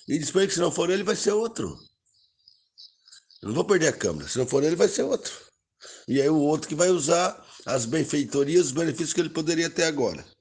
E diz para ele que se não for ele, vai ser outro. Eu não vou perder a Câmara. Se não for ele, vai ser outro. E aí o outro que vai usar as benfeitorias, os benefícios que ele poderia ter agora.